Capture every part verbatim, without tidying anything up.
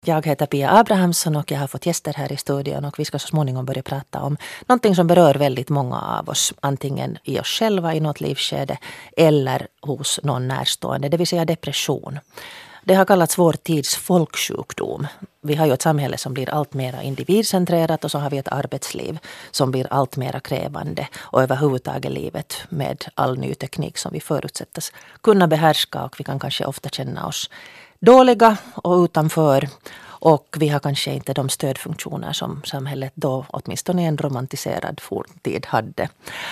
Jag heter Pia Abrahamsson och jag har fått gäster här i studion och vi ska så småningom börja prata om någonting som berör väldigt många av oss. Antingen i oss själva i något livsskede eller hos någon närstående, det vill säga depression. Det har kallats vår tids folksjukdom. Vi har ju ett samhälle som blir allt mer individcentrerat och så har vi ett arbetsliv som blir allt mer krävande och överhuvudtaget livet med all ny teknik som vi förutsättas kunna behärska och vi kan kanske ofta känna oss dåliga och utanför och vi har kanske inte de stödfunktioner som samhället då åtminstone i en romantiserad forntid hade.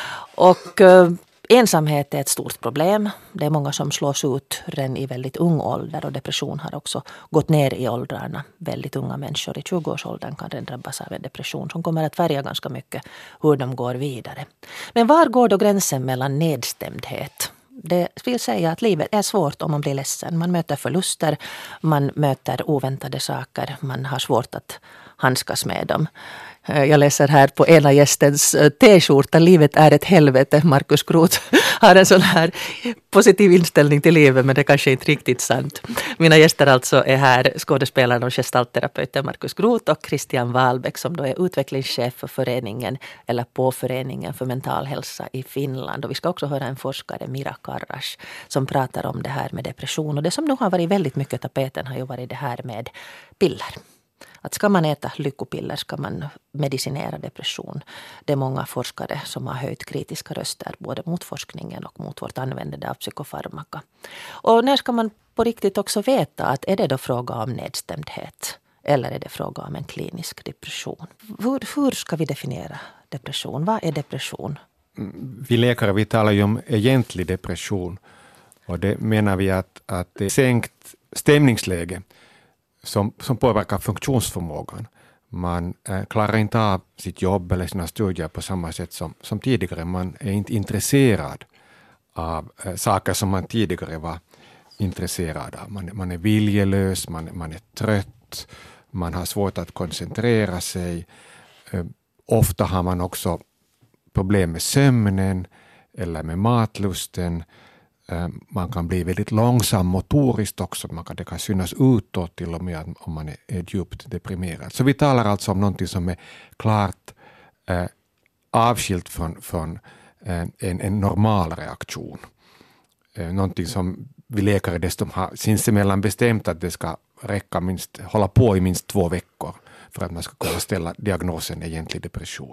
Och eh, ensamhet är ett stort problem. Det är många som slås ut redan i väldigt ung ålder och depression har också gått ner i åldrarna. Väldigt unga människor i tjugoårsåldern kan redan drabbas av en depression som kommer att färga ganska mycket hur de går vidare. Men var går då gränsen mellan nedstämdhet? Det vill säga att livet är svårt om man blir ledsen. Man möter förluster, man möter oväntade saker, man har svårt att handskas med dem. Jag läser här på ena gästens t-skjorta, livet är ett helvete. Markus Groth har en sån här positiv inställning till livet, men det kanske inte riktigt sant. Mina gäster alltså är här skådespelaren och gestaltterapeuten Markus Groth och Christian Wahlbeck som då är utvecklingschef för föreningen eller på föreningen för mental hälsa i Finland. Och vi ska också höra en forskare, Mira Karras, som pratar om det här med depression. Och det som nog har varit väldigt mycket tapeten har ju varit det här med piller. Att ska man äta lyckopiller ska man medicinera depression. Det är många forskare som har höjt kritiska röster både mot forskningen och mot vårt användande av psykofarmaka. Och när ska man på riktigt också veta att är det då fråga om nedstämdhet eller är det fråga om en klinisk depression? Hur, hur ska vi definiera depression? Vad är depression? Vi läkare vi talar ju om egentlig depression och det menar vi att, att det är sänkt stämningsläge Som, som påverkar funktionsförmågan. Man eh, klarar inte av sitt jobb eller sina studier på samma sätt som, som tidigare. Man är inte intresserad av eh, saker som man tidigare var intresserad av. Man, man är viljelös, man, man är trött, man har svårt att koncentrera sig. Eh, ofta har man också problem med sömnen eller med matlusten. Man kan bli väldigt långsam motoriskt också. Man kan, det kan synas utåt till och med om man är, är djupt deprimerad. Så vi talar alltså om någonting som är klart eh, avskilt från, från eh, en, en normal reaktion. Eh, någonting som vi läkare dessutom har sinsemellan bestämt att det ska räcka minst, hålla på i minst två veckor för att man ska kunna ställa diagnosen egentlig depression.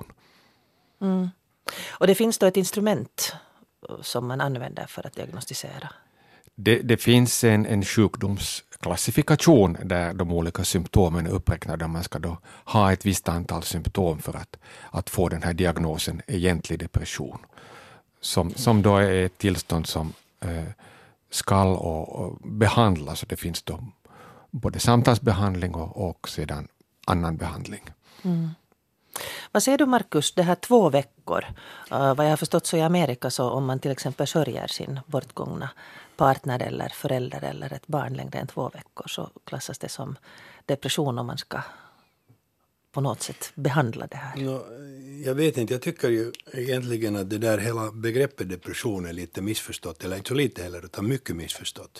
Mm. Och det finns då ett instrument som man använder för att diagnostisera? Det, det finns en, en sjukdomsklassifikation där de olika symptomen är uppräknade. Man ska då ha ett visst antal symptom för att, att få den här diagnosen egentlig depression. Som, som då är ett tillstånd som eh, skall och, och behandlas. Och det finns då både samtalsbehandling och, och sedan annan behandling. Mm. Vad säger du Markus, det här två veckor, uh, vad jag har förstått så i Amerika så om man till exempel sörjer sin bortgångna partner eller förälder eller ett barn längre än två veckor så klassas det som depression om man ska på något sätt behandla det här. No, jag vet inte, jag tycker ju egentligen att det där hela begreppet depression är lite missförstått, eller inte så lite heller utan mycket missförstått.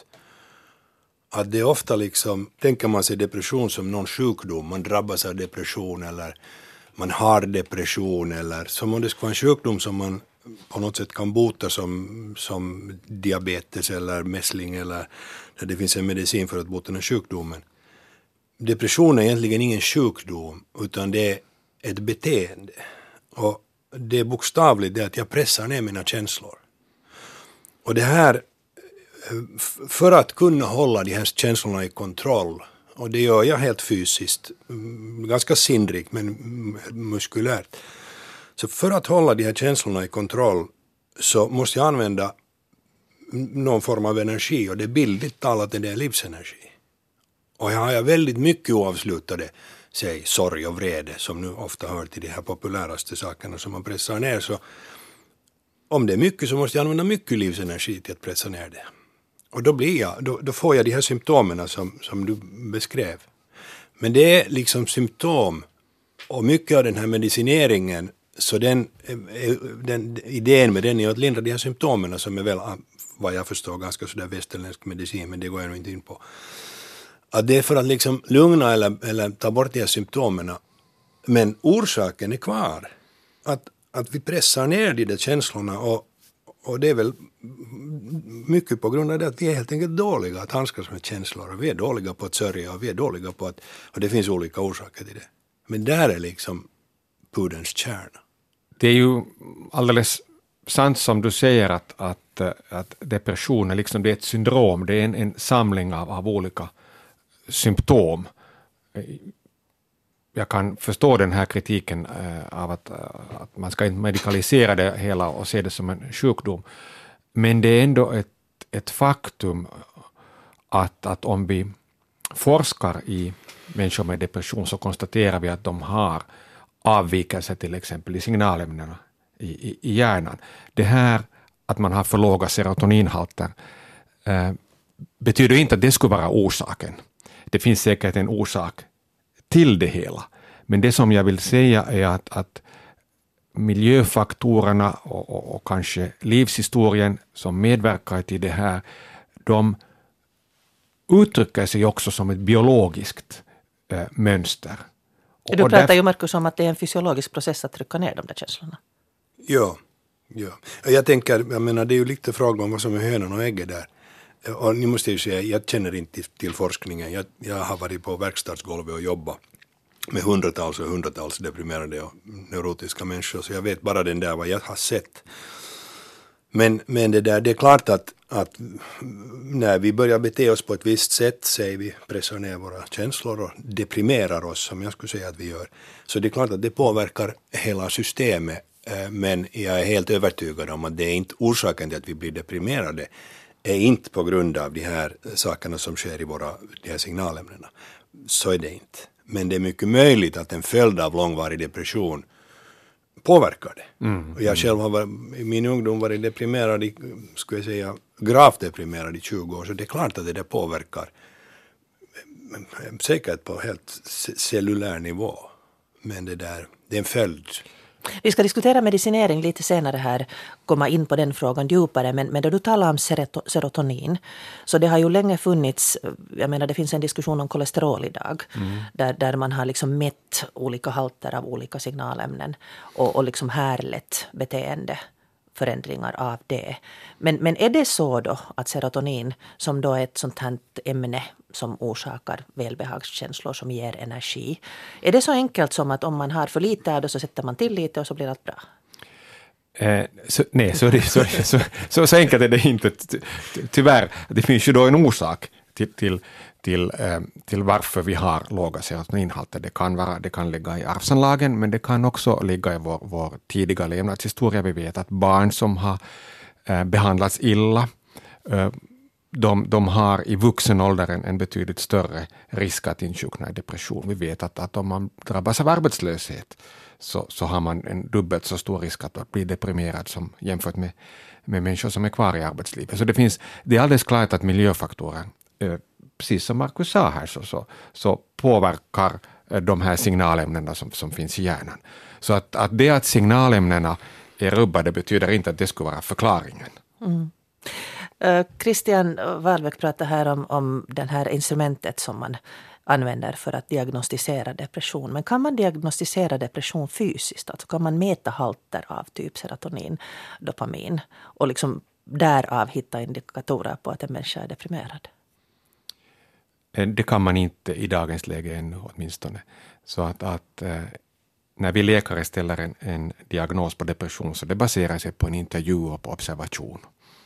Att det är ofta liksom, tänker man sig depression som någon sjukdom, man drabbas av depression eller man har depression eller som om det ska vara en sjukdom som man på något sätt kan bota som, som diabetes eller mässling eller där det finns en medicin för att bota den sjukdomen. Depression är egentligen ingen sjukdom utan det är ett beteende. Och det är bokstavligt det att jag pressar ner mina känslor. Och det här, för att kunna hålla de här känslorna i kontroll, och det gör jag helt fysiskt, ganska sindrikt men muskulärt. Så för att hålla de här känslorna i kontroll så måste jag använda någon form av energi och det är bildligt talat det är livsenergi. Och jag har väldigt mycket oavslutade, säg sorg och vrede som nu ofta hör till de här populäraste sakerna som man pressar ner. Så om det är mycket så måste jag använda mycket livsenergi till att pressa ner det. Och då, blir jag, då, då får jag de här symptomen som, som du beskrev. Men det är liksom symptom och mycket av den här medicineringen så den, den idén med den är att lindra de här symptomen som är väl vad jag förstår ganska sådär västerländsk medicin men det går jag nog inte in på. Att det är för att liksom lugna eller, eller ta bort de här symptomen. Men orsaken är kvar. Att, att vi pressar ner de där känslorna och, och det är väl mycket på grund av det att vi är helt enkelt dåliga att handskas med känslor. Och vi är dåliga på att sörja och vi är dåliga på att, och det finns olika orsaker till det. Men där är liksom pudelns kärna. Det är ju alldeles sant som du säger att, att, att depression är, liksom, det är ett syndrom, det är en, en samling av, av olika symptom. Jag kan förstå den här kritiken äh, av att, att man ska inte medikalisera det hela och se det som en sjukdom. Men det är ändå ett, ett faktum att, att om vi forskar i människor med depression så konstaterar vi att de har avvikelser till exempel i signalämnena i, i, i hjärnan. Det här att man har för låga serotoninhalter äh, betyder inte att det skulle vara orsaken. Det finns säkert en orsak till det hela. Men det som jag vill säga är att, att miljöfaktorerna och, och, och kanske livshistorien som medverkar till det här, de uttrycker sig också som ett biologiskt äh, mönster. Du pratar därför, ju Markus om att det är en fysiologisk process att trycka ner de där känslorna. Ja, ja. Jag tänker, jag menar det är ju lite fråga om vad som är hönan och ägget där. Och ni måste ju säga, jag känner inte till forskningen. Jag, jag har varit på verkstadsgolvet och jobbat med hundratals och hundratals deprimerade och neurotiska människor. Så jag vet bara den där vad jag har sett. Men, men det där, det är klart att, att när vi börjar bete oss på ett visst sätt, säger vi pressar ner våra känslor och deprimerar oss, som jag skulle säga att vi gör. Så det är klart att det påverkar hela systemet. Men jag är helt övertygad om att det är inte orsaken till att vi blir deprimerade. Är inte på grund av de här sakerna som sker i våra de här signalämnena. Så är det inte. Men det är mycket möjligt att en följd av långvarig depression påverkar det. Mm, och jag själv har varit, i min ungdom varit deprimerad, i, skulle jag säga, gravt deprimerad i tjugo år. Så det är klart att det där påverkar. Säkert på helt cellulär nivå. Men det där, det är en följd. Vi ska diskutera medicinering lite senare här, komma in på den frågan djupare, men, men då du talar om serotonin, så det har ju länge funnits, jag menar det finns en diskussion om kolesterol idag, mm. där, där man har liksom mätt olika halter av olika signalämnen och, och liksom härlett beteendeförändringar av det. Men, men är det så då att serotonin, som då är ett sånt här ämne som orsakar välbehagskänslor som ger energi. Är det så enkelt som att om man har för lite av det så sätter man till lite och så blir allt bra? Eh, så, nej, så, det, så, så, så, så enkelt är det inte. Tyvärr, det finns ju då en orsak till, till, till, eh, till varför vi har låga serotoninhalter. Det kan, vara, det kan ligga i arvsanlagen, men det kan också ligga i vår, vår tidiga levnadshistoria. Vi vet att barn som har eh, behandlats illa eh, De, de har i vuxen ålder en, en betydligt större risk att insjukna i depression. Vi vet att, att om man drabbas av arbetslöshet så, så har man en dubbelt så stor risk att bli deprimerad som jämfört med, med människor som är kvar i arbetslivet. Så det, finns, det är alldeles klart att miljöfaktorer, eh, precis som Markus sa här, så, så, så påverkar eh, de här signalämnena som, som finns i hjärnan. Så att, att det att signalämnena är rubbade betyder inte att det skulle vara förklaringen. Mm. Christian Wahlbeck pratar här om, om det här instrumentet som man använder för att diagnostisera depression. Men kan man diagnostisera depression fysiskt? Alltså kan man mäta halter av typ serotonin, dopamin och liksom därav hitta indikatorer på att en människa är deprimerad? Det kan man inte i dagens läge ännu åtminstone. Så att, att när vi läkare ställer en, en diagnos på depression så det baserar sig på en intervju och på observation.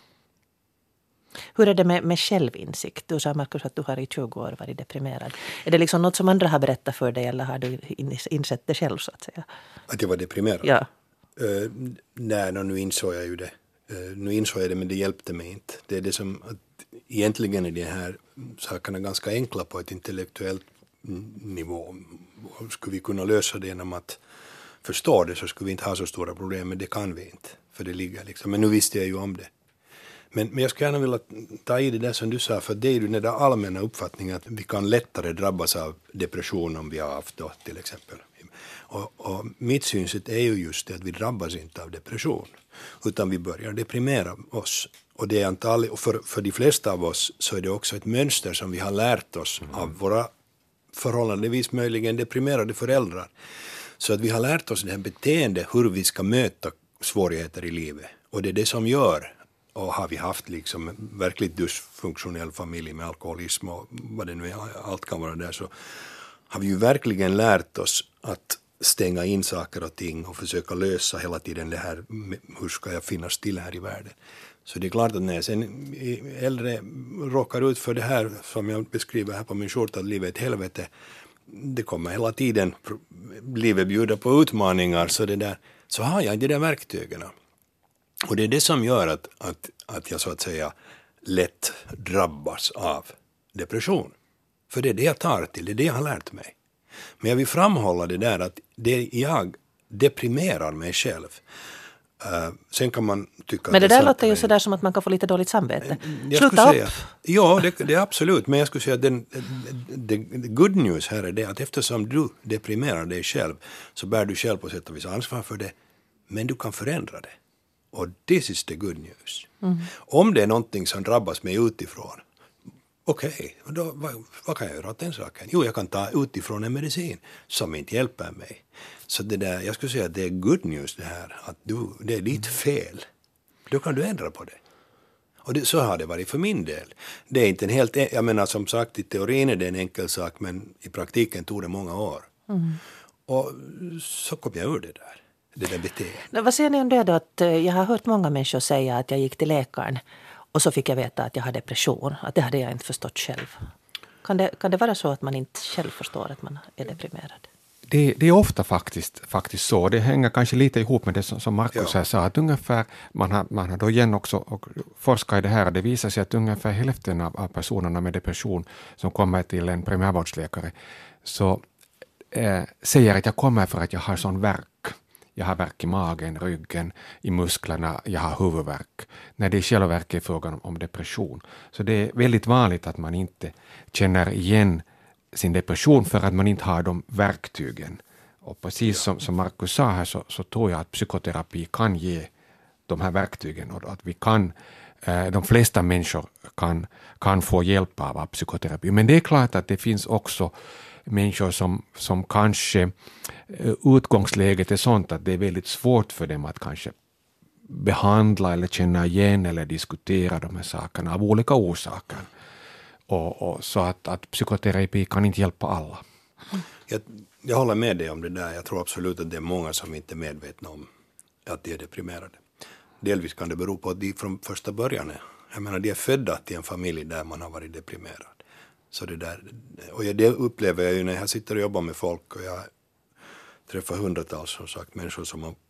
Hur är det med, med självinsikt? Du sa, Markus, att du har i tjugo år varit deprimerad. Är det liksom något som andra har berättat för dig eller har du insett det själv så att säga? Att jag var deprimerad? Ja. Uh, nej, no, nu insåg jag ju det. Uh, nu insåg jag det, men det hjälpte mig inte. Det är det som, att egentligen är de här sakerna ganska enkla på ett intellektuellt nivå. Skulle vi kunna lösa det genom att förstå det så skulle vi inte ha så stora problem, men det kan vi inte. För det ligger liksom. Men nu visste jag ju om det. Men, men jag skulle gärna vilja ta i det där som du sa, för det är ju den där allmänna uppfattningen att vi kan lättare drabbas av depression om vi har haft då till exempel. Och, och mitt synsätt är ju just det att vi drabbas inte av depression, utan vi börjar deprimera oss. Och det är antagligen, för, för de flesta av oss så är det också ett mönster som vi har lärt oss mm. av våra förhållandevis möjligen deprimerade föräldrar. Så att vi har lärt oss det här beteendet, hur vi ska möta svårigheter i livet. Och det är det som gör, och har vi haft liksom en verkligt dysfunktionell familj med alkoholism och vad det nu är, allt kan vara där, så har vi ju verkligen lärt oss att stänga in saker och ting och försöka lösa hela tiden det här, hur ska jag finnas till här i världen. Så det är klart att när sen äldre råkar ut för det här som jag beskriver här på min skjorta, att livet är ett helvete, det kommer hela tiden livet bjuda på utmaningar, så, det där, så har jag inte de där verktygen. Och det är det som gör att, att, att jag så att säga lätt drabbas av depression. För det är det jag tar till, det är det jag har lärt mig. Men jag vill framhålla det där att det jag deprimerar mig själv. Uh, sen kan man tycka men det, det där låter ju sådär som att man kan få lite dåligt samvete. Jag Sluta upp! Säga, ja, det, det är absolut. Men jag skulle säga att den, the, the good news här är det att eftersom du deprimerar dig själv så bär du själv på sätt och vis ansvar för det. Men du kan förändra det. Och this is the good news. Mm. Om det är någonting som drabbas mig utifrån, okej, okay, vad, vad kan jag göra åt den saken? Jo, jag kan ta utifrån en medicin som inte hjälper mig. Så det där, jag skulle säga att det är good news det här, att du, det är ditt fel. Då kan du ändra på det. Och det, så har det varit för min del. Det är inte en helt, jag menar som sagt i teorin är det en enkel sak, men i praktiken tog det många år. Mm. Och så kom jag ur det där. Det där beteendet. Vad säger ni om det då? Att jag har hört många människor säga att jag gick till läkaren och så fick jag veta att jag hade depression. Att det hade jag inte förstått själv. Kan det, kan det vara så att man inte själv förstår att man är deprimerad? Det, det är ofta faktiskt, faktiskt så. Det hänger kanske lite ihop med det som, som Markus ja. sa. Att ungefär, man har, man har då igen också och forskat i det här. Det visar sig att ungefär hälften av, av personerna med depression som kommer till en primärvårdsläkare så eh, säger att jag kommer för att jag har sån värk. Jag har värk i magen, ryggen, i musklerna, jag har huvudvärk. När det i själva verket är frågan om depression. Så det är väldigt vanligt att man inte känner igen sin depression för att man inte har de verktygen. Och precis som, som Markus sa här så, så tror jag att psykoterapi kan ge de här verktygen. Och att vi kan, eh, de flesta människor kan, kan få hjälp av, av psykoterapi. Men det är klart att det finns också människor som, som kanske utgångsläget är sånt att det är väldigt svårt för dem att kanske behandla eller känna igen eller diskutera de här sakerna av olika orsaker. Och, och så att, att psykoterapi kan inte hjälpa alla. Jag, jag håller med dig om det där. Jag tror absolut att det är många som inte är medvetna om att de är deprimerade. Delvis kan det bero på att de från första början är, jag menar, de är födda till en familj där man har varit deprimerad. Så det där, och det upplever jag ju när jag sitter och jobbar med folk och jag träffar hundratals som sagt människor som har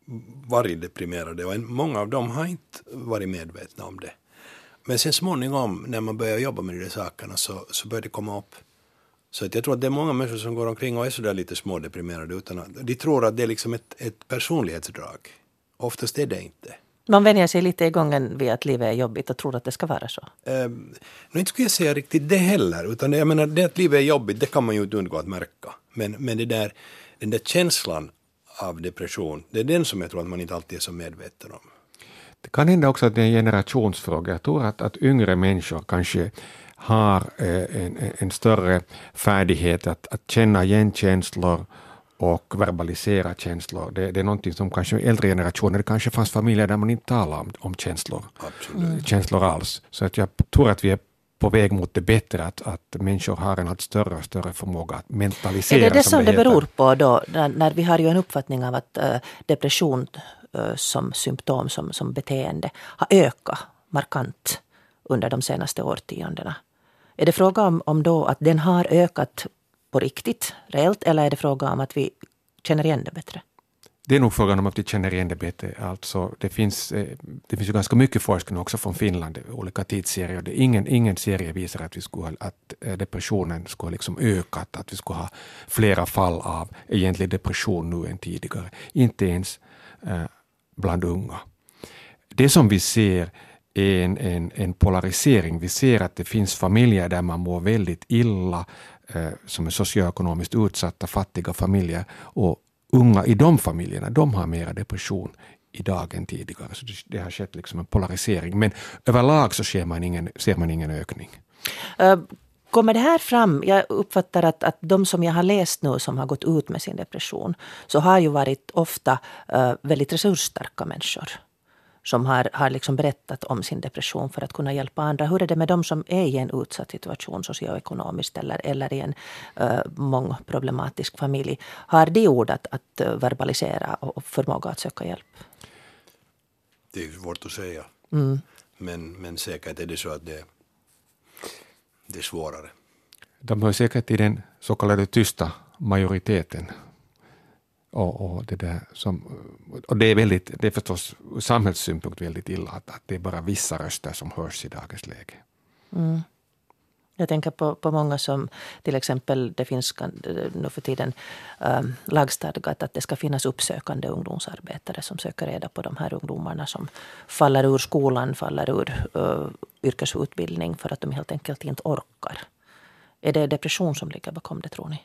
varit deprimerade och många av dem har inte varit medvetna om det. Men sen småningom när man börjar jobba med de där sakerna så, så börjar det komma upp. Så att jag tror att det är många människor som går omkring och är sådär lite smådeprimerade utan att de tror att det är liksom ett, ett personlighetsdrag. Oftast är det inte. Man vänjer sig lite i gången vid att livet är jobbigt och tror att det ska vara så. Um, nu inte skulle jag säga riktigt det heller. Utan jag menar, det att livet är jobbigt, det kan man ju inte undgå att märka. Men, men det där, den där känslan av depression, det är den som jag tror att man inte alltid är så medveten om. Det kan hända också att det är en generationsfråga. Jag tror att, att yngre människor kanske har eh, en, en större färdighet att, att känna igen känslor och verbalisera känslor. Det, det är någonting som kanske äldre generationer, det kanske fanns familjer där man inte talar om, om känslor. Absolut. Känslor alls. Så att jag tror att vi är på väg mot det bättre, att, att människor har en allt större och större förmåga att mentalisera. Är det det som, som det, det beror på då, när, när vi har ju en uppfattning av att äh, depression äh, som symptom, som, som beteende har ökat markant under de senaste årtiondena. Är det fråga om, om då att den har ökat på riktigt, reellt, eller är det fråga om att vi känner igen det bättre? Det är nog frågan om att vi känner igen det bättre. Alltså, det, finns, det finns ju ganska mycket forskning också från Finland, olika tidsserier. Det, ingen, ingen serie visar att, vi skulle, att depressionen skulle liksom ökat, att vi skulle ha flera fall av egentlig depression nu än tidigare. Inte ens eh, bland unga. Det som vi ser är en, en, en polarisering. Vi ser att det finns familjer där man mår väldigt illa, eh, som är socioekonomiskt utsatta, fattiga familjer, och unga i de familjerna, de har mera depression idag än tidigare. Så det, det har skett liksom en polarisering. Men överlag så ser man ingen, ser man ingen ökning. Uh, kommer det här fram? Jag uppfattar att, att de som jag har läst nu som har gått ut med sin depression så har ju varit ofta uh, väldigt resursstarka människor som har, har liksom berättat om sin depression för att kunna hjälpa andra. Hur är det med de som är i en utsatt situation socioekonomiskt eller, eller i en uh, mångproblematisk familj? Har de ord att, att uh, verbalisera och förmåga att söka hjälp? Det är svårt att säga. Mm. Men, men säkert är det så att det, det är svårare. De hör säkert i den så kallade tysta majoriteten. Och, och, det där som, och det är väldigt, det är förstås ur samhällssynpunkt väldigt illa att, att det är bara vissa röster som hörs i dagens läge. Mm. Jag tänker på, på många som till exempel det finns nu för tiden äh, lagstadgat att det ska finnas uppsökande ungdomsarbetare som söker reda på de här ungdomarna som faller ur skolan, faller ur äh, yrkesutbildning för att de helt enkelt inte orkar. Är det depression som ligger bakom det, tror ni?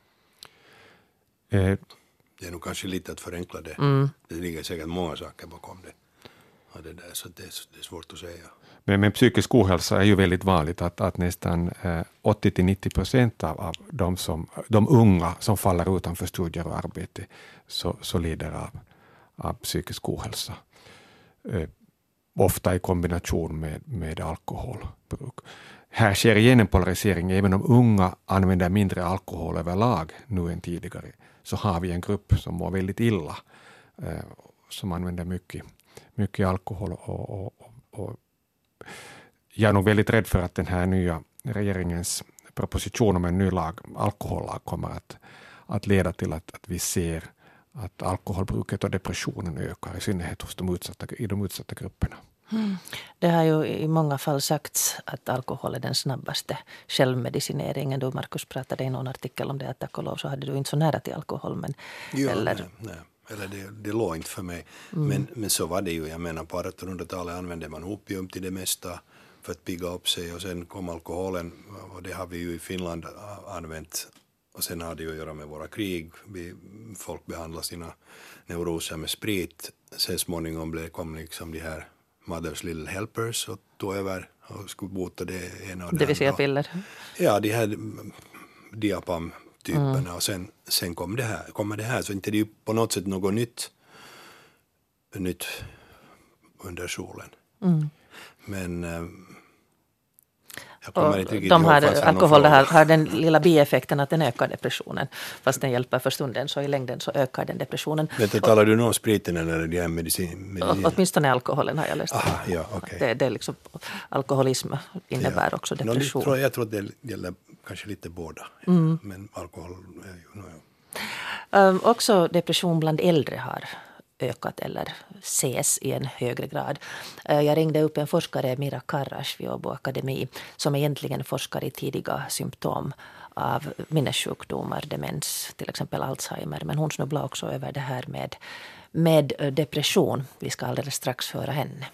Eh, Det är nog kanske lite att förenkla det. Mm. Det ligger säkert många saker bakom det. Och det där, så det är, det är svårt att säga. Men med psykisk ohälsa är ju väldigt vanligt att, att nästan eh, åttio till nittio procent av, av de, som, de unga som faller utanför studier och arbete så, så lider av, av psykisk ohälsa. Eh, ofta i kombination med, med alkoholbruk. Här sker igen en polarisering. Även om unga använder mindre alkohol överlag nu än tidigare så har vi en grupp som mår väldigt illa eh, som använder mycket, mycket alkohol och, och, och, och jag är nog väldigt rädd för att den här nya regeringens proposition om en ny lag, alkohollag kommer att, att leda till att, att vi ser att alkoholbruket och depressionen ökar i synnerhet hos de utsatta, i de utsatta grupperna. Mm. Det har ju i många fall sagts att alkohol är den snabbaste självmedicineringen. Du, Markus, pratade i någon artikel om det att tack och lov så hade du inte så nära till alkohol. Men, ja, eller nej, nej. Eller det, det låg inte för mig. Mm. Men, men så var det ju. Jag menar på artonhundratalet använde man opium till det mesta för att pigga upp sig och sen kom alkoholen och det har vi ju i Finland använt och sen har det ju att göra med våra krig. Vi, folk behandlar sina neuroser med sprit. Sen småningom blev, kom liksom de här Mother's Little Helpers och tog över och skulle bota det ena och det, det vill säga piller. Ja, de här diapam-typerna mm. och sen, sen kom det här, kommer det här så inte det är ju på något sätt något nytt, nytt under solen. Mm. Men jag kommer inte riktigt de ihåg, har, alkohol har, har den lilla bieffekten att den ökar depressionen. Fast den hjälper för stunden så i längden så ökar den depressionen. Men det talar du nog om spriten eller de här medicin? medicin? Åtminstone alkoholen har jag läst. Aha, ja, okay. det, det är liksom, alkoholism innebär ja. också depression. No, jag tror att det gäller kanske lite båda. Mm. Men alkohol är ju... No, ja. um, också depression bland äldre har ökat eller ses i en högre grad. Jag ringde upp en forskare, Mira Karras vid Åbo Akademi, som egentligen forskar i tidiga symptom av minnessjukdomar, demens, till exempel Alzheimer. Men hon snubblar också över det här med, med depression. Vi ska alldeles strax höra henne.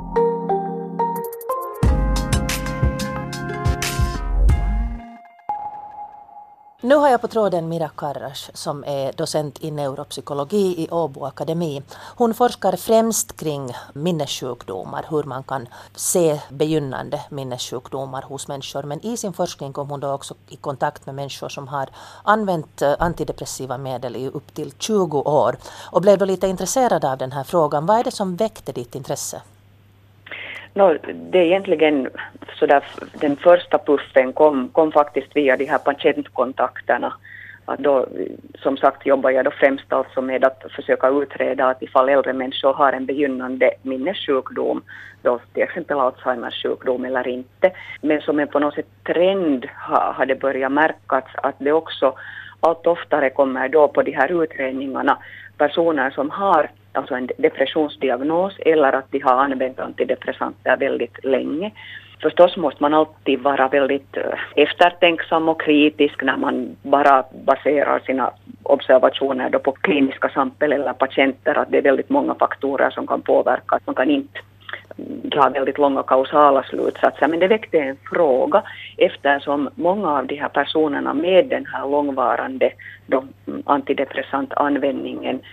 Nu har jag på tråden Mira Karras som är docent i neuropsykologi i Åbo Akademi. Hon forskar främst kring minnessjukdomar, hur man kan se begynnande minnessjukdomar hos människor. Men i sin forskning kom hon då också i kontakt med människor som har använt antidepressiva medel i upp till tjugo år och blev då lite intresserad av den här frågan. Vad är det som väckte ditt intresse? No, det är egentligen så där, den första puffen kom, kom faktiskt via de här patientkontakterna. Att då, som sagt jobbar jag då främst alltså med att försöka utreda att ifall äldre människor har en begynnande minnessjukdom, då till exempel Alzheimers sjukdom eller inte. Men som en på något sätt trend har, har det börjat märkas att det också allt oftare kommer då på de här utredningarna personer som har alltså en depressionsdiagnos eller att de har använt antidepressanter väldigt länge. Förstås måste man alltid vara väldigt eftertänksam och kritisk när man bara baserar sina observationer då på kliniska samtal eller patienter, att det är väldigt många faktorer som kan påverka, att man kan inte dra väldigt långa kausala slutsatser. Men det väckte en fråga eftersom många av de här personerna med den här långvarande då, antidepressant användningen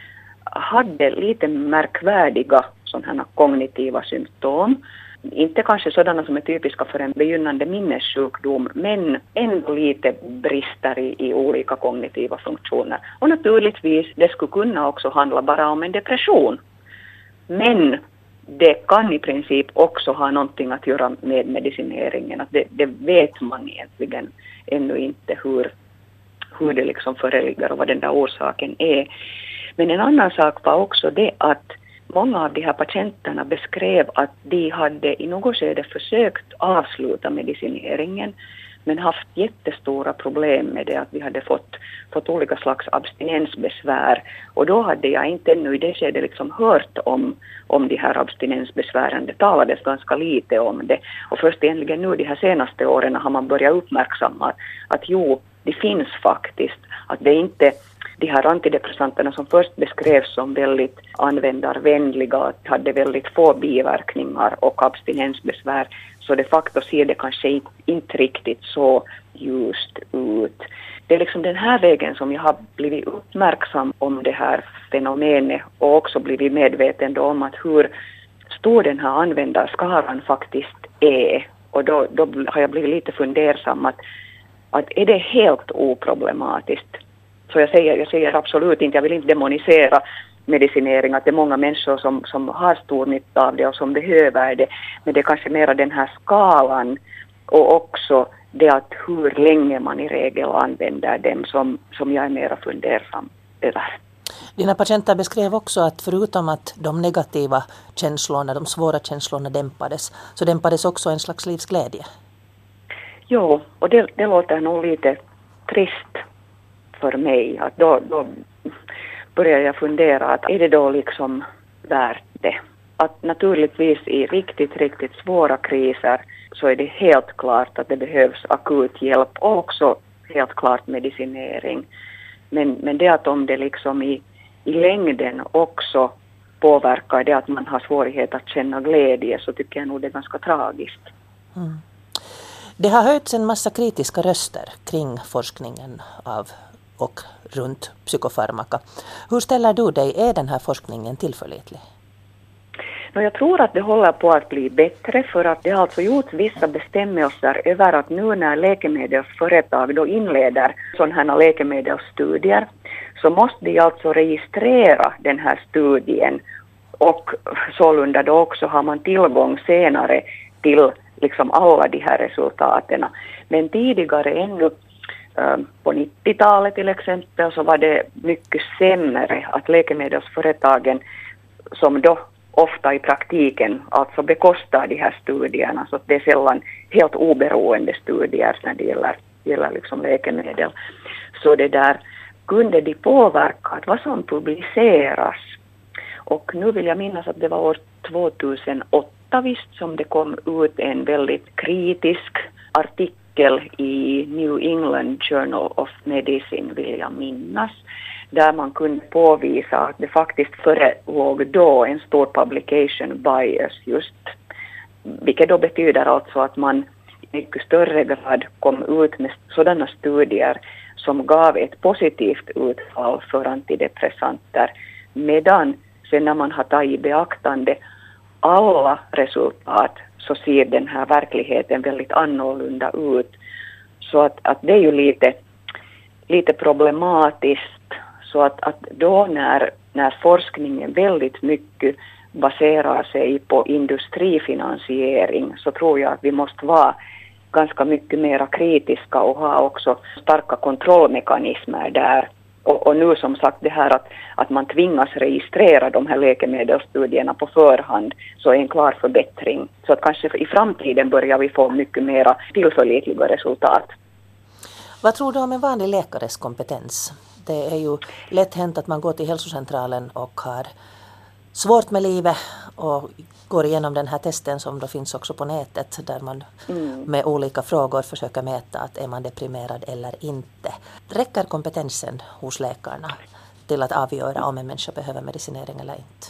hade lite märkvärdiga sådana kognitiva symptom. Inte kanske sådana som är typiska för en begynnande minnessjukdom, men ändå lite brister i, i olika kognitiva funktioner. Och naturligtvis, det skulle kunna också handla bara om en depression. Men det kan i princip också ha någonting att göra med medicineringen. Att det, det vet man egentligen ännu inte hur, hur det liksom föreligger och vad den där orsaken är. Men en annan sak var också det att många av de här patienterna beskrev att de hade i något skede försökt avsluta medicineringen men haft jättestora problem med det, att vi hade fått, fått olika slags abstinensbesvär. Och då hade jag inte ännu i det skedet liksom hört om, om de här abstinensbesvären. Det talades ganska lite om det. Och först egentligen nu de här senaste åren har man börjat uppmärksamma att jo, det finns faktiskt. Att det inte de här antidepressanterna som först beskrevs som väldigt användarvänliga, hade väldigt få biverkningar och abstinensbesvär, så de facto ser det kanske inte riktigt så ljust ut. Det är liksom den här vägen som jag har blivit uppmärksam om det här fenomenet och också blivit medveten om att hur stor den här användarskaran faktiskt är. Och då, då har jag blivit lite fundersam att, att är det helt oproblematiskt? Så jag säger, jag säger absolut inte, jag vill inte demonisera medicinering, att det är många människor som, som har stor nytta av det och som behöver det. Men det är kanske mera den här skalan och också det att hur länge man i regel använder dem som, som jag är mera fundersam över. Dina patienter beskrev också att förutom att de negativa känslorna, de svåra känslorna dämpades, så dämpades också en slags livsglädje. Jo, och det, det låter nog lite trist för mig. Att då, då börjar jag fundera att är det då liksom värt det? Att naturligtvis i riktigt, riktigt svåra kriser så är det helt klart att det behövs akut hjälp och också helt klart medicinering. Men, men det att om det liksom i, i längden också påverkar det att man har svårighet att känna glädje, så tycker jag nog det är ganska tragiskt. Mm. Det har hörts en massa kritiska röster kring forskningen av och runt psykofarmaka. Hur ställer du dig? Är den här forskningen tillförlitlig? Jag tror att det håller på att bli bättre, för att det har alltså gjorts vissa bestämmelser över att nu när läkemedelsföretag då inleder sådana här läkemedelsstudier så måste de alltså registrera den här studien, och sålunda då också har man tillgång senare till liksom alla de här resultaten. Men tidigare ännu på nittiotalet till exempel så var det mycket sämre att läkemedelsföretagen som då ofta i praktiken alltså bekostar de här studierna, så att det är sällan helt oberoende studier när det gäller, gäller liksom läkemedel. Så det där kunde de påverka vad som publiceras. Och nu vill jag minnas att det var år tvåtusenåtta visst som det kom ut en väldigt kritisk artikel i New England Journal of Medicine, vill jag minnas, där man kunde påvisa att det faktiskt förelåg då en stor publication bias just, vilket då betyder alltså att man i mycket större grad kom ut med sådana studier som gav ett positivt utfall för antidepressanter, medan sen när man har tagit i beaktande alla resultat så ser den här verkligheten väldigt annorlunda ut. Så att, att det är ju lite, lite problematiskt. Så att, att då när, när forskningen väldigt mycket baserar sig på industrifinansiering, så tror jag att vi måste vara ganska mycket mer kritiska och ha också starka kontrollmekanismer där. Och, och nu som sagt det här att, att man tvingas registrera de här läkemedelsstudierna på förhand, så är en klar förbättring. Så att kanske i framtiden börjar vi få mycket mer tillförlitliga resultat. Vad tror du om en vanlig läkares kompetens? Det är ju lätt hänt att man går till hälsocentralen och har svårt med livet och går igenom den här testen som då finns också på nätet, där man mm. med olika frågor försöker mäta att är man deprimerad eller inte. Räcker kompetensen hos läkarna till att avgöra om en människa behöver medicinering eller inte?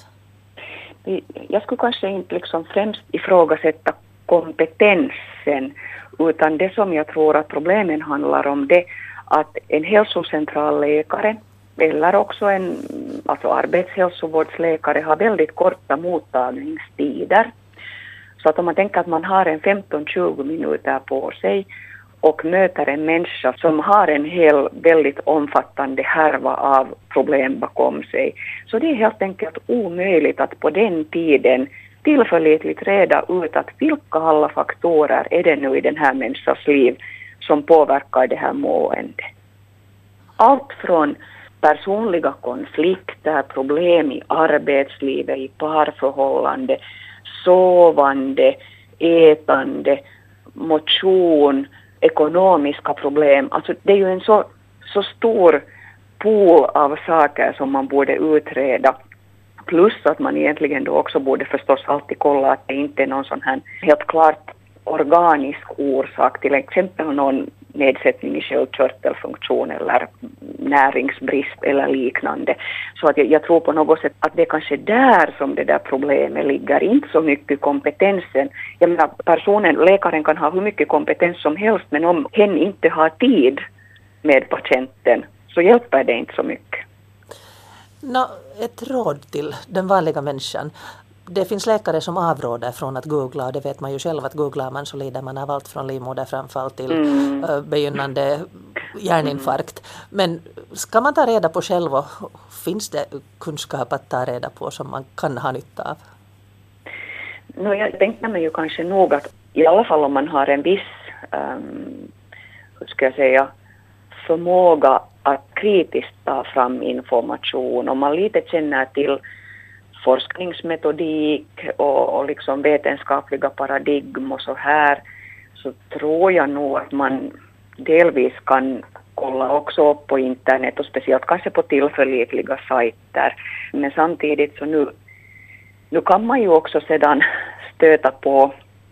Jag skulle kanske inte liksom främst ifrågasätta kompetensen, utan det som jag tror att problemen handlar om det att en hälsocentralläkare eller också en alltså arbetshälsovårdsläkare har väldigt korta mottagningstider. Så att om man tänker att man har en femton till tjugo minuter på sig och möter en människa som har en hel väldigt omfattande härva av problem bakom sig, så det är helt enkelt omöjligt att på den tiden tillförlitligt reda ut att vilka alla faktorer är det nu i den här människans liv som påverkar det här måendet. Allt från personliga konflikter, problem i arbetslivet, i parförhållande, sovande, ätande, motion, ekonomiska problem. Alltså det är ju en så, så stor pool av saker som man borde utreda. Plus att man egentligen då också borde förstås alltid kolla att det inte är någon sån här helt klart organisk orsak, till exempel någon nedsättning i sköldkörtelfunktion eller näringsbrist eller liknande. Så att jag, jag tror på något sätt att det är kanske där som det där problemet ligger, inte så mycket kompetensen. Jag menar, personen, läkaren kan ha hur mycket kompetens som helst, men om hen inte har tid med patienten så hjälper det inte så mycket. Nå, ett råd till den vanliga människan. Det finns läkare som avråder från att googla, och det vet man ju själv att googlar man så lider man av allt från livmoderframfall till mm. uh, begynnande hjärninfarkt. Men ska man ta reda på själv, och finns det kunskap att ta reda på som man kan ha nytta av? No, jag tänkte mig ju kanske nog att i alla fall om man har en viss um, hur ska jag säga, förmåga att kritiskt ta fram information, om man lite känner till forskningsmetodik och, och liksom vetenskapliga paradigm och så här, så tror jag nog att man delvis kan kolla också upp på internet och speciellt kanske på tillförlitliga sajter. Men samtidigt så nu, nu kan man ju också sedan stöta på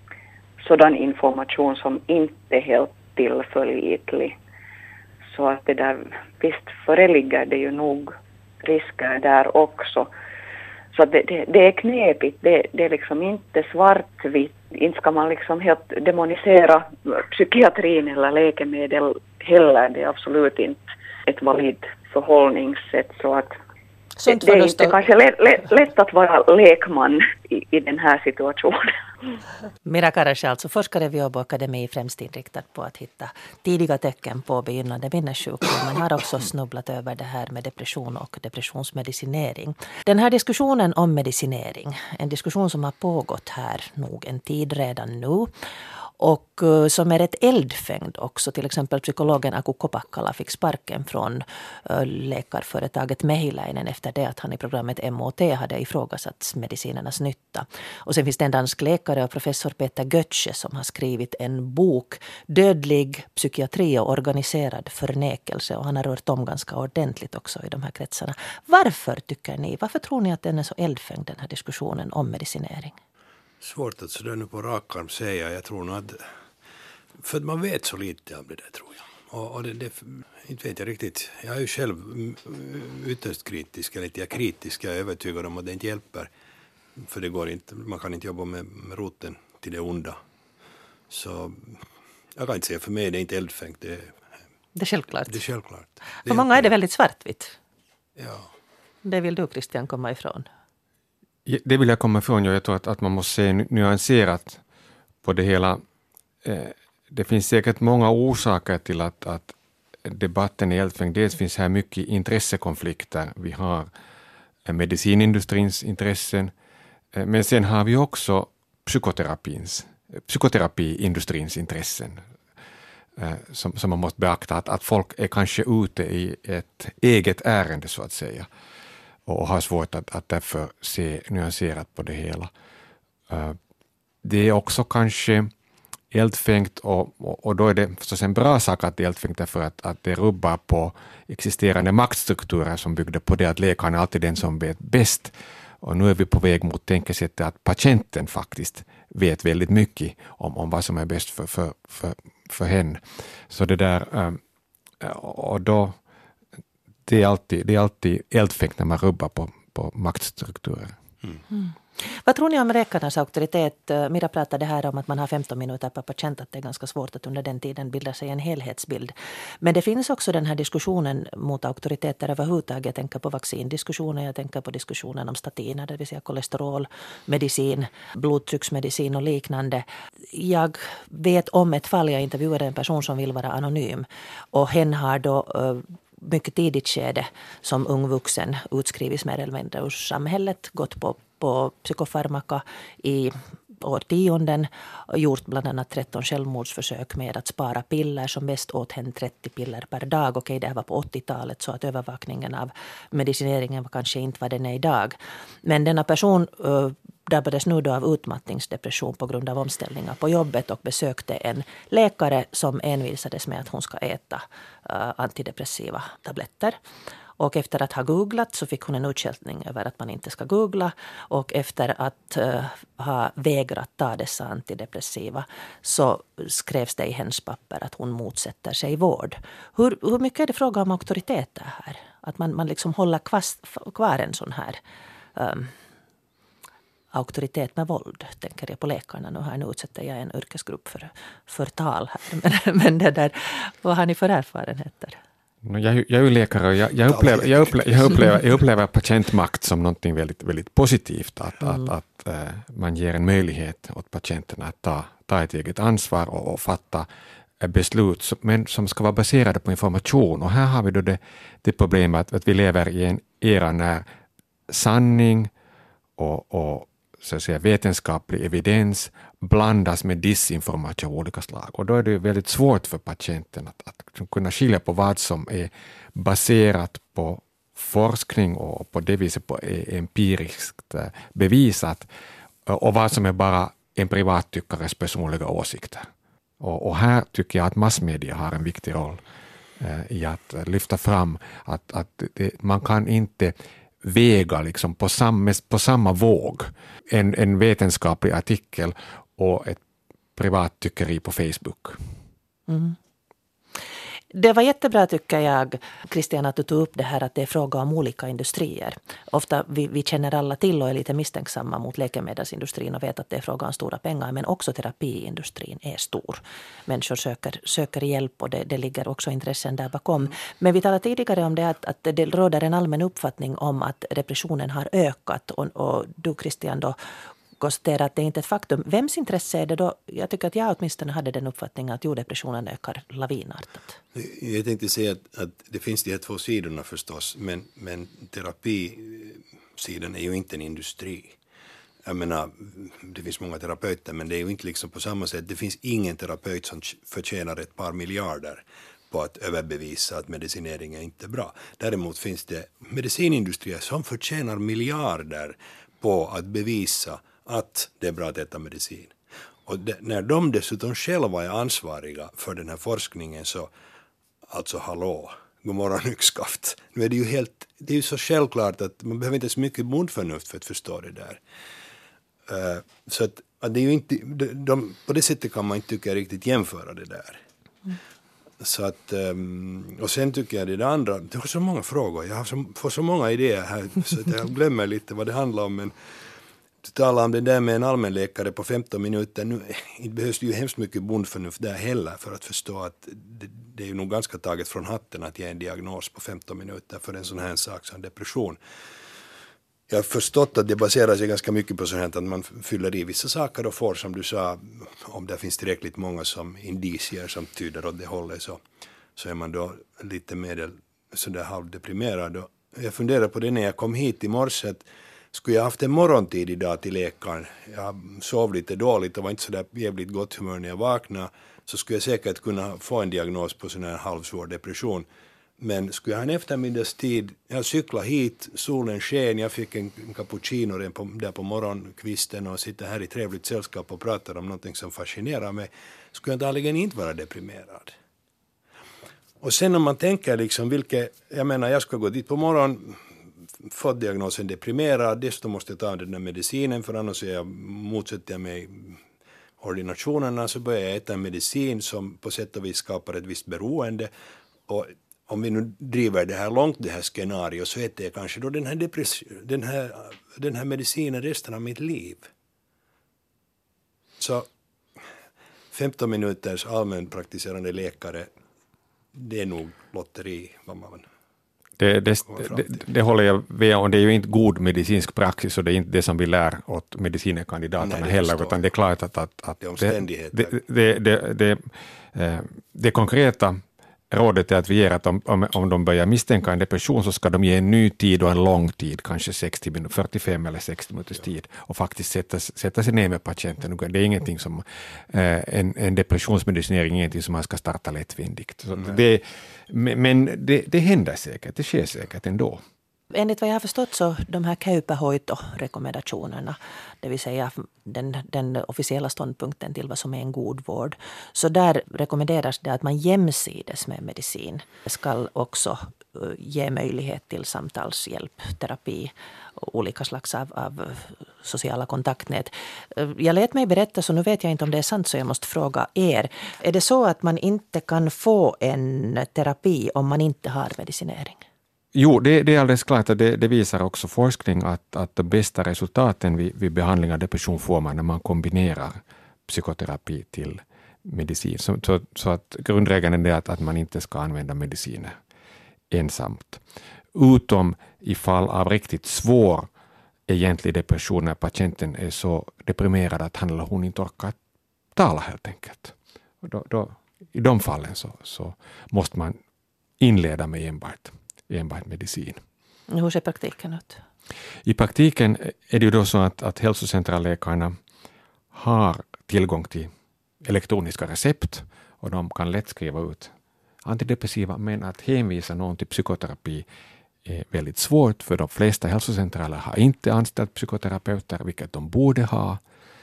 sådan information som inte är helt tillförlitlig. Så att det där, visst föreligger det ju nog risker där också. Så det, det, det är knepigt, det, det är liksom inte svartvitt. Inte ska man liksom helt demonisera psykiatrin eller läkemedel heller. Det är absolut inte ett valid förhållningssätt. Så att det, det är inte kanske lätt, lätt, lätt att vara lekman i, i den här situationen. Mira Karasch, alltså forskare vid Åbo Akademi, främst inriktad på att hitta tidiga tecken på begynnande minnessjukdom. Man har också snubblat över det här med depression och depressionsmedicinering. Den här diskussionen om medicinering, en diskussion som har pågått här nog en tid redan nu, och som är rätt eldfängd också. Till exempel psykologen Aku Kopakkala fick sparken från läkarföretaget Mehiläinen efter det att han i programmet M O T hade ifrågasatt medicinernas nytta. Och sen finns det en dansk läkare och professor Peter Götze som har skrivit en bok, Dödlig psykiatri och organiserad förnekelse, och han har rört om ganska ordentligt också i de här kretsarna. Varför tycker ni, varför tror ni att den är så eldfängd, den här diskussionen om medicinering? Svårt att sådär nu på rak arm säga. Jag tror nog att, för att man vet så lite av det där, tror jag. Och, och det, det, inte vet jag riktigt. Jag är ju själv ytterst kritisk, eller inte jag kritisk, jag är övertygad om att det inte hjälper. För det går inte, man kan inte jobba med, med roten till det onda. Så jag kan inte säga, för mig det är inte eldfängt. Det, det är självklart. Det är självklart. Det för många är det väldigt svartvitt. Ja. Det vill du, Christian, komma ifrån. Det vill jag komma ifrån. Jag tror att, att man måste se nyanserat på det hela. Det finns säkert många orsaker till att, att debatten är eldfängd. Dels finns här mycket intressekonflikter. Vi har medicinindustrins intressen. Men sen har vi också psykoterapins, psykoterapiindustrins intressen. Som, som man måste beakta. Att, att folk är kanske ute i ett eget ärende så att säga. Och har svårt att, att därför se nyanserat på det hela. Uh, det är också kanske eldfängt, och, och, och då är det förstås en bra sak att det är eldfängt, därför att, att det rubbar på existerande maktstrukturer som byggde på det att läkaren är alltid den som vet bäst. Och nu är vi på väg mot tänkesättet att patienten faktiskt vet väldigt mycket om, om vad som är bäst för, för, för, för henne. Så det där, um, och då Det är alltid, det är alltid eldfängt när man rubbar på, på maktstrukturer. Mm. Mm. Vad tror ni om läkarnas auktoritet? Mira pratade här om att man har femton minuter per patient, att det är ganska svårt att under den tiden bilda sig en helhetsbild. Men det finns också den här diskussionen mot auktoriteter överhuvudtaget. Jag tänker på vaccindiskussionen, jag tänker på diskussionen om statiner, det vill säga kolesterolmedicin, blodtrycksmedicin och liknande. Jag vet om ett fall, jag intervjuade en person som vill vara anonym, och hen har då mycket tidigt skede som ung vuxen utskrivits mer eller mindre ur samhället, gått på, på psykofarmaka i årtionden och gjort bland annat tretton självmordsförsök med att spara piller, som mest åt hen trettio piller per dag. Okej, det här var på åttiotalet, så att övervakningen av medicineringen var kanske inte vad den är idag. Men denna person uh, drabbades nu då av utmattningsdepression på grund av omställningar på jobbet och besökte en läkare som envisades med att hon ska äta uh, antidepressiva tabletter. Och efter att ha googlat så fick hon en utskällning över att man inte ska googla. Och efter att uh, ha vägrat ta dessa antidepressiva så skrevs det i hennes papper att hon motsätter sig vård. Hur, hur mycket är det fråga om auktoriteter här? Att man, man liksom håller kvast, kvar en sån här um, auktoritet med våld, tänker jag på läkarna. Nu här nu utsätter jag en yrkesgrupp för förtal här. Men, men det där, vad har ni för erfarenheter? Jag, jag är ju läkare och jag, jag, upplever, jag, upplever, jag, upplever, jag upplever patientmakt som något väldigt, väldigt positivt. Att, mm. att, att äh, man ger en möjlighet åt patienterna att ta, ta ett eget ansvar och, och fatta äh, beslut som, men som ska vara baserade på information. Och här har vi då det, det problemet att, att vi lever i en era när sanning och, och så att säga, vetenskaplig evidens blandas med disinformation av olika slag. Och då är det väldigt svårt för patienten att, att kunna skilja på vad som är baserat på forskning och på det viset på empiriskt bevisat och vad som är bara en privattyckares personliga åsikter. Och, och här tycker jag att massmedia har en viktig roll eh, i att lyfta fram att, att det, man kan inte väga liksom på, samma, på samma våg en, en vetenskaplig artikel och ett privat tyckeri på Facebook. Mm. Det var jättebra, tycker jag, Christian, att du tog upp det här att det är fråga om olika industrier. Ofta vi, vi känner alla till och är lite misstänksamma mot läkemedelsindustrin och vet att det är fråga om stora pengar, men också terapiindustrin är stor. Människor söker, söker hjälp och det, det ligger också intressen där bakom. Men vi talade tidigare om det att, att det råder en allmän uppfattning om att depressionen har ökat och, och du, Christian, då konstatera att det är inte är ett faktum. Vems intresse är det då? Jag tycker att jag åtminstone hade den uppfattningen att jorddepressionen ökar lavinartat. Jag tänkte säga att, att det finns de här två sidorna förstås, men, men terapisidan är ju inte en industri. Jag menar, det finns många terapeuter, men det är ju inte liksom på samma sätt. Det finns ingen terapeut som förtjänar ett par miljarder på att överbevisa att medicinering är inte bra. Däremot finns det medicinindustrier som förtjänar miljarder på att bevisa att det är bra att äta medicin. Och det, när de dessutom själva är ansvariga för den här forskningen så, alltså hallå, god morgon yxskaft. Nu är det ju helt, det är ju så självklart att man behöver inte så mycket bondförnuft för att förstå det där. Uh, så att, att det är ju inte, de, de, på det sättet kan man inte tycka riktigt jämföra det där. Mm. Så att, um, och sen tycker jag det, det andra, det har så många frågor, jag har så, får så många idéer här så att jag glömmer lite vad det handlar om, men du talar om det där med en allmänläkare på femton minuter, nu det behövs ju hemskt mycket bondförnuft där heller för att förstå att det, det är ju nog ganska taget från hatten att ge en diagnos på femton minuter för en sån här sak som depression. Jag har förstått att det baserar sig ganska mycket på sånt här att man fyller i vissa saker och får, som du sa, om det finns tillräckligt många som indicier som tyder åt det hållet så, så är man då lite mer sådär halvdeprimerad. Och jag funderar på det när jag kom hit i morse att skulle jag haft en morgontid idag till läkaren, jag sov lite dåligt och var inte sådär jävligt gott humör när jag vaknade, så skulle jag säkert kunna få en diagnos på sån här halvsvår depression. Men skulle jag ha en eftermiddagstid, jag cyklade hit, solen sken, jag fick en cappuccino på, där på morgonkvisten och sitter här i trevligt sällskap och pratar om någonting som fascinerar mig, skulle jag antagligen inte vara deprimerad. Och sen om man tänker liksom vilket, jag menar jag ska gå dit på morgon, fått diagnosen deprimerad, desto måste jag ta den där medicinen för annars är jag, motsätter jag mig ordinationerna, så börjar jag äta en medicin som på sätt och vis skapar ett visst beroende. Och om vi nu driver det här långt, det här scenariot, så äter jag kanske då den här, depress- den här, den här medicinen resten av mitt liv. Så femton minuters allmänpraktiserande läkare, det är nog lotteri, vad man Det, det, det, det håller jag med om. Det är ju inte god medicinsk praxis och det är inte det som vi lär åt medicinkandidaterna Nej, heller, utan det är klart att, att, att det, omständigheter. det, det, det, det, det, det konkreta rådet är att vi ger att om, om, om de börjar misstänka en depression så ska de ge en ny tid och en lång tid, kanske sextio minuter, fyrtiofem eller sextio minuters tid och faktiskt sätta, sätta sig ner med patienten. Det är ingenting som, eh, en, en depressionsmedicinering är ingenting som man ska starta lättvindigt. Så det, men det, det händer säkert, det sker säkert ändå. Enligt vad jag har förstått så de här Käypä-hoito-rekommendationerna, det vill säga den, den officiella ståndpunkten till vad som är en god vård, så där rekommenderas det att man jämsides med medicin ska också ge möjlighet till samtalshjälp, terapi och olika slags av, av sociala kontaktnät. Jag lät mig berätta, så nu vet jag inte om det är sant, så jag måste fråga er. Är det så att man inte kan få en terapi om man inte har medicinering? Jo, det, det är alldeles klart att det, det visar också forskning att, att de bästa resultaten vid, vid behandling av depression får man när man kombinerar psykoterapi till medicin. Så, så, så att grundregeln är att, att man inte ska använda mediciner ensamt. Utom i fall av riktigt svår egentlig depression när patienten är så deprimerad att han eller hon inte orkar tala helt enkelt. Och då, då, i de fallen så, så måste man inleda med enbart enbart medicin. Hur ser praktiken ut? I praktiken är det ju då så att, att hälsocentralläkarna har tillgång till elektroniska recept och de kan lätt skriva ut antidepressiva, men att hänvisa någon till psykoterapi är väldigt svårt, för de flesta hälsocentraler har inte anställt psykoterapeuter, vilket de borde ha.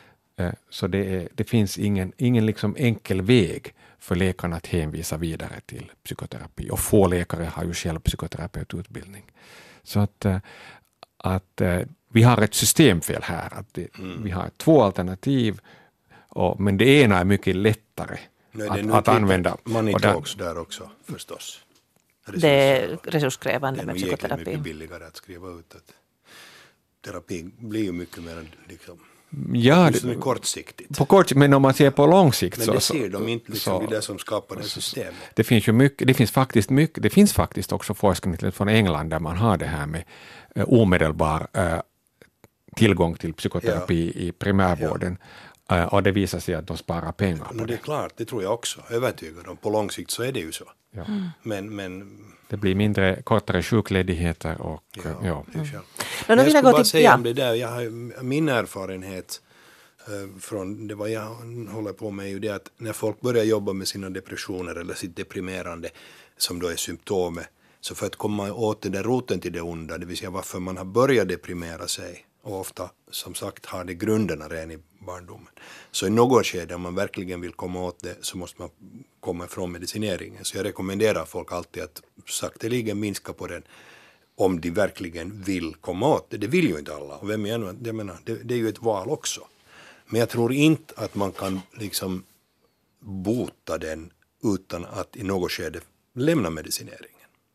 Så det, är, det finns ingen, ingen liksom enkel väg för läkarna att hänvisa vidare till psykoterapi. Och få läkare har ju själv psykoterapeututbildning. Så att, att vi har ett systemfel här. Att det, mm. Vi har två alternativ, och, men det ena är mycket lättare Nej, att, att att använda. Money talks där också förstås. Det är resurskrävande med psykoterapi. Det är mycket billigare att skriva ut att terapi blir ju mycket mer liksom Ja, det, kortsiktigt. På kort, men om man ser på lång sikt men så... det ser de inte liksom så, det som skapar det systemet. Det finns ju mycket, det finns faktiskt mycket, det finns faktiskt också forskning från England där man har det här med uh, omedelbar uh, tillgång till psykoterapi ja. i primärvården. Ja. Uh, och det visar sig att de sparar pengar på no, det. är klart, det tror jag också. Övertygad om. På lång sikt så är det ju så. Ja. Mm. Men, men... Det blir mindre, kortare sjukledigheter och... Ja, ja. Mm. Men men jag skulle bara till, säga ja. om det där, jag har, min erfarenhet uh, från det vad jag håller på med är ju det att när folk börjar jobba med sina depressioner eller sitt deprimerande som då är symptomet, så för att komma åt den där roten till det onda, det vill säga varför man har börjat deprimera sig och ofta som sagt har det grunderna redan i barndomen. Så i något skede om man verkligen vill komma åt det så måste man komma ifrån medicineringen. Så jag rekommenderar folk alltid att sakteligen minska på den om de verkligen vill komma åt det. Det vill ju inte alla. Och vem är nu? Jag menar, det, det är ju ett val också. Men jag tror inte att man kan liksom bota den utan att i något skede lämna medicineringen.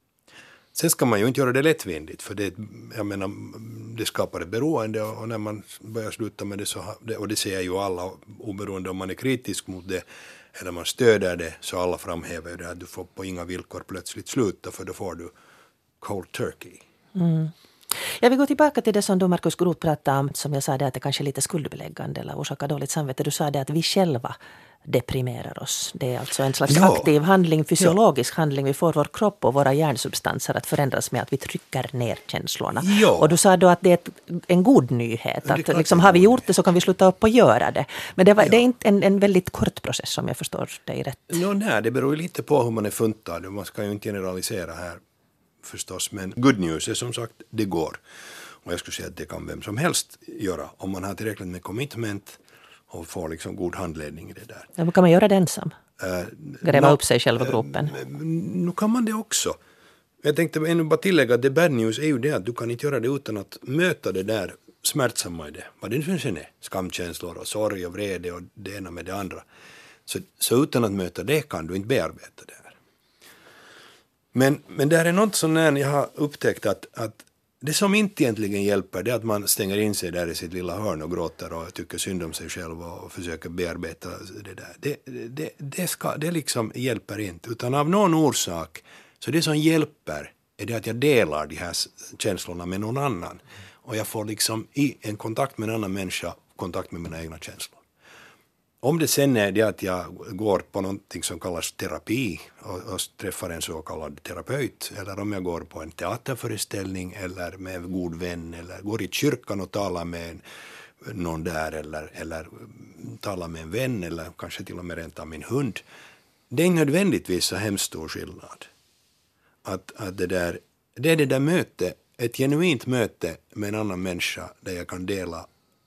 Sen ska man ju inte göra det lättvindigt, för det, jag menar, det skapar ett beroende, och när man börjar sluta med det så, och det säger ju alla, oberoende om man är kritisk mot det eller man stöder det, så alla framhäver ju det att du får på inga villkor plötsligt sluta, för då får du cold turkey. Mm. Jag vill gå tillbaka till det som du, Markus Groth, pratade om, som jag sa, det att det kanske är lite skuldbeläggande eller orsakar dåligt samvete. Du sa det att vi själva deprimerar oss. Det är alltså en slags ja. aktiv handling, fysiologisk ja. handling. Vi får vår kropp och våra hjärnsubstanser att förändras med att vi trycker ner känslorna. Ja. Och du sa då att det är ett, en god nyhet. Att liksom, har vi gjort det så kan vi sluta upp och göra det. Men det, var, ja. det är inte en, en väldigt kort process, om jag förstår dig rätt. No, nej, det beror ju lite på hur man är funtad. Man ska ju inte generalisera här förstås. Men good news är som sagt, det går. Och jag skulle säga att det kan vem som helst göra om man har tillräckligt med commitment och får liksom god handledning i det där. Ja, men kan man göra det ensam? Uh, Gräva no, upp sig själv i gropen? Uh, nu kan man det också. Jag tänkte ännu bara tillägga att det bad news är ju det att du kan inte göra det utan att möta det där smärtsamma i det. Vad det nu sen är. Skamkänslor och sorg och vrede och det ena med det andra. Så, så utan att möta det kan du inte bearbeta det här. Men, men det här är något som när jag har upptäckt att, att det som inte egentligen hjälper det är att man stänger in sig där i sitt lilla hörn och gråter och tycker synd om sig själv och försöker bearbeta det där. Det, det, det, ska, det liksom hjälper inte, utan av någon orsak så det som hjälper är det att jag delar de här känslorna med någon annan. Och jag får liksom i en kontakt med en annan människa kontakt med mina egna känslor. Om det sen är det att jag går på någonting som kallas terapi och, och träffar en så kallad terapeut, eller om jag går på en teaterföreställning eller med en god vän eller går i kyrkan och talar med en, någon där eller, eller talar med en vän eller kanske till och med rent av min hund. Det är nödvändigtvis så hemskt stor skillnad. Att, att det, där, det är det där möte, ett genuint möte med en annan människa där jag kan dela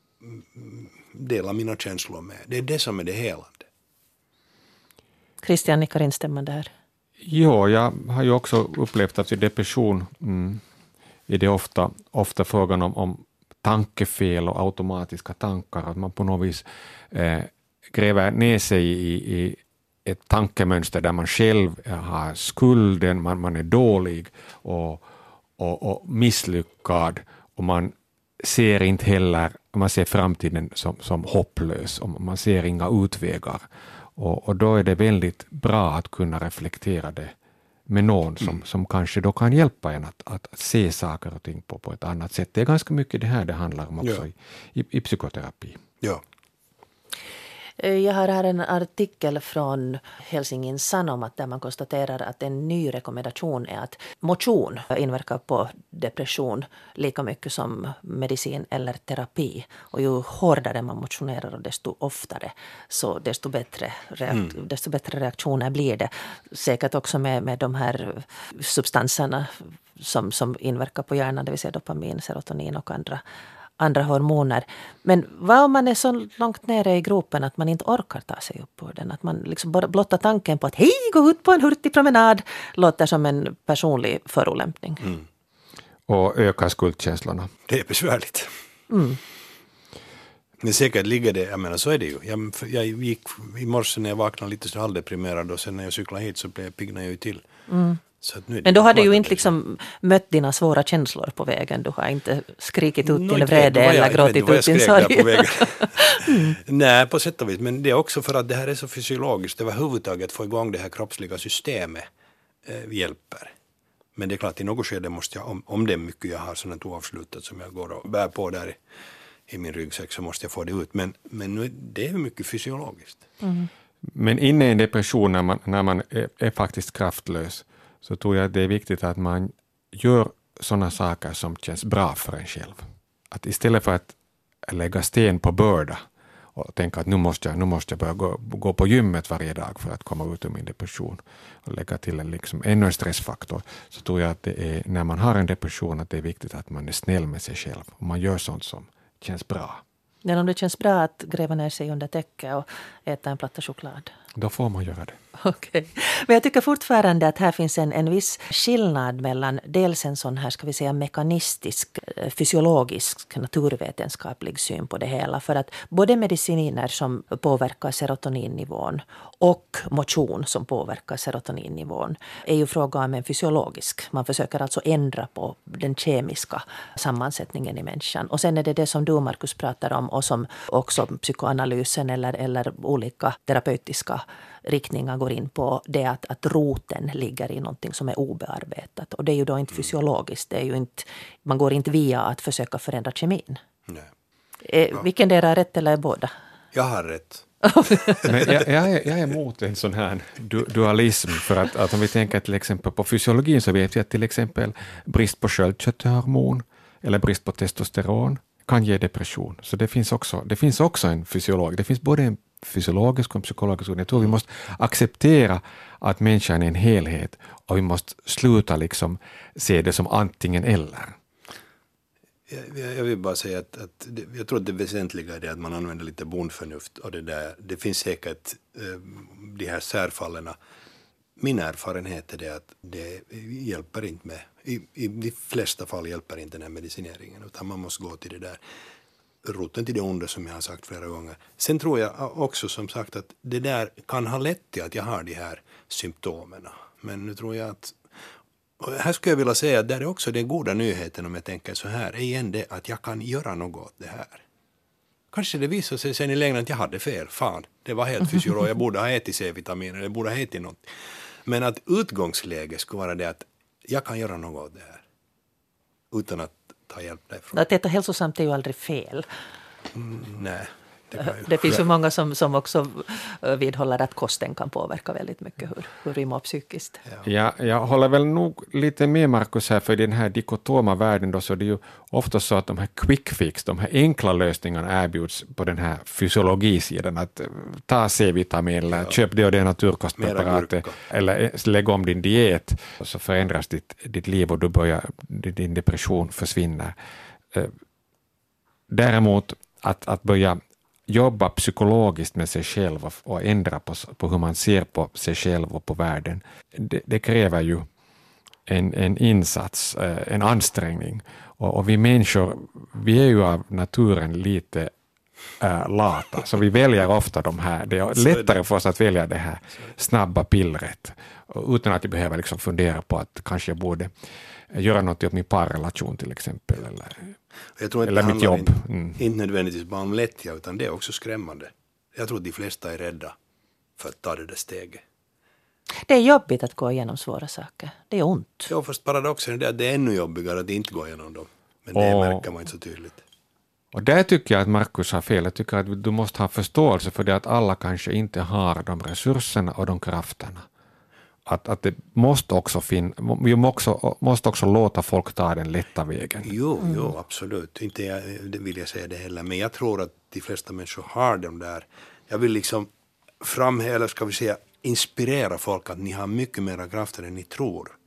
dela mina känslor med. Det är det som är det helande. Christian nickar instämmande här. Jo, jag har ju också upplevt att i depression mm, är det ofta, ofta frågan om, om tankefel och automatiska tankar. Att man på något vis eh, gräver ner sig i, i ett tankemönster där man själv har skulden, man, man är dålig och, och, och misslyckad och man ser inte heller, man ser framtiden som, som hopplös och man ser inga utvägar. Och, och då är det väldigt bra att kunna reflektera det med någon som, mm. som kanske då kan hjälpa en att, att, att se saker och ting på, på ett annat sätt. Det är ganska mycket det här det handlar om också ja. i, i, i psykoterapi. Ja. Jag har här en artikel från Helsingin Sanomat där man konstaterar att en ny rekommendation är att motion inverkar på depression lika mycket som medicin eller terapi. Och ju hårdare man motionerar och desto oftare så desto bättre, reak- mm. desto bättre reaktioner blir det. Säkert också med, med de här substanserna som, som inverkar på hjärnan, det vill säga dopamin, serotonin och andra andra hormoner. Men vad om man är så långt nere i gropen att man inte orkar ta sig upp ur den? Att man liksom bara blottar tanken på att hej, gå ut på en hurtig promenad låter som en personlig förolämpning. Mm. Och ökar skuldkänslorna. Det är besvärligt. Mm. Men säkert ligger det, jag menar så är det ju. Jag, jag gick i morse när jag vaknade lite så halvdeprimerad och sen när jag cyklade hit så blev jag piggna ju till. Mm. Men då har du ju inte liksom mött dina svåra känslor på vägen. Du har inte skrikit ut no, till vrede eller jag, gråtit ut din sorg. mm. Nej, på sätt och vis. Men det är också för att det här är så fysiologiskt. Överhuvudtaget att få igång det här kroppsliga systemet eh, hjälper. Men det är klart, i något skede måste jag, om, om det är mycket jag har sådant oavslutat som jag går och bär på där i, i min ryggsäck så måste jag få det ut. Men, men nu, det är mycket fysiologiskt. Mm. Men inne i en depression när man, när man är, är faktiskt kraftlös så tror jag att det är viktigt att man gör sådana saker som känns bra för en själv. Att istället för att lägga sten på börda och tänka att nu måste jag, nu måste jag börja gå, gå på gymmet varje dag för att komma ut ur min depression och lägga till en liksom ännu en stressfaktor, så tror jag att det är, när man har en depression, att det är viktigt att man är snäll med sig själv och man gör sånt som känns bra. Men om det känns bra att gräva ner sig under täcke och äta en platta choklad? Då får man göra det. Okej. Okay. Men jag tycker fortfarande att här finns en, en viss skillnad mellan dels en sån här, ska vi säga, mekanistisk, fysiologisk, naturvetenskaplig syn på det hela. För att både mediciner som påverkar serotoninnivån och motion som påverkar serotoninnivån är ju fråga om en fysiologisk. Man försöker alltså ändra på den kemiska sammansättningen i människan. Och sen är det det som du, Markus, pratar om och som också psykoanalysen eller, eller olika terapeutiska riktningar går in på, det att, att roten ligger i någonting som är obearbetat. Och det är ju då inte fysiologiskt. Det är ju inte, man går inte via att försöka förändra kemin. Nej. Eh, vilken del är rätt eller är båda? Jag har rätt. Men jag, jag, är, jag är emot en sån här du, dualism. För att, att om vi tänker till exempel på fysiologin så vet vi att till exempel brist på sköldkörtelhormon eller brist på testosteron kan ge depression. Så det finns också, det finns också en fysiolog. Det finns både en fysiologisk och psykologisk. Jag tror vi måste acceptera att människan är en helhet och vi måste sluta liksom se det som antingen eller. Jag, jag vill bara säga att, att det, jag tror att det väsentliga är det att man använder lite bondförnuft och det där. Det finns säkert eh, de här särfallerna. Min erfarenhet är det att det hjälper inte med. I, I de flesta fall hjälper inte den här medicineringen, utan man måste gå till det där roten till det onda som jag har sagt flera gånger. Sen tror jag också som sagt att det där kan ha lett till att jag har de här symptomerna. Men nu tror jag att Och här skulle jag vilja säga att där är också den goda nyheten, om jag tänker så här, är igen det att jag kan göra något åt det här. Kanske det visar sig sen i längden att jag hade fel. Fan, det var helt fysiologiskt. Jag borde ha ätit C-vitaminer, jag borde ha ätit något. Men att utgångsläget skulle vara det att jag kan göra något åt det här. Utan att ta hjälp därifrån. Att äta hälsosamt är ju aldrig fel. Mm, nej. Det, det finns ju många som, som också vidhåller att kosten kan påverka väldigt mycket hur, hur vi mår psykiskt. Ja. Jag, jag håller väl nog lite med Markus här, för i den här dikotoma världen då, så är det ju ofta så att de här quick fix, de här enkla lösningarna erbjuds på den här fysiologisidan, att ta C-vitamin eller ja. köp det och det naturkostpreparatet eller lägg om din diet, så förändras ditt, ditt liv och då börjar din depression försvinna. Däremot att, att börja jobba psykologiskt med sig själv och, och ändra på, på hur man ser på sig själv och på världen. Det, det kräver ju en, en insats, en ansträngning. Och, och vi människor, vi är ju av naturen lite äh, lata, så vi väljer ofta de här. Det är lättare för oss att välja det här snabba pillret utan att vi behöver liksom fundera på att kanske jag borde göra något åt min parrelation till exempel. Eller, jag tror att eller det mitt jobb. Inte, mm. inte nödvändigtvis bara om lättja, utan det är också skrämmande. Jag tror att de flesta är rädda för att ta det där steget. Det är jobbigt att gå igenom svåra saker. Det är ont. Ja, fast paradoxen är det att det är ännu jobbigare att inte gå igenom dem. Men det och, märker man inte så tydligt. Och där tycker jag att Markus har fel. Jag tycker att du måste ha förståelse för det att alla kanske inte har de resurserna och de krafterna. Att, att det måste också fin, vi måste också, måste också låta folk ta den lätta vägen. Jo, mm. jo absolut. Inte jag, det vill jag säga det heller. Men jag tror att de flesta människor har dem där. Jag vill liksom framhäva, eller ska vi säga, inspirera folk att ni har mycket mer krafter än ni tror.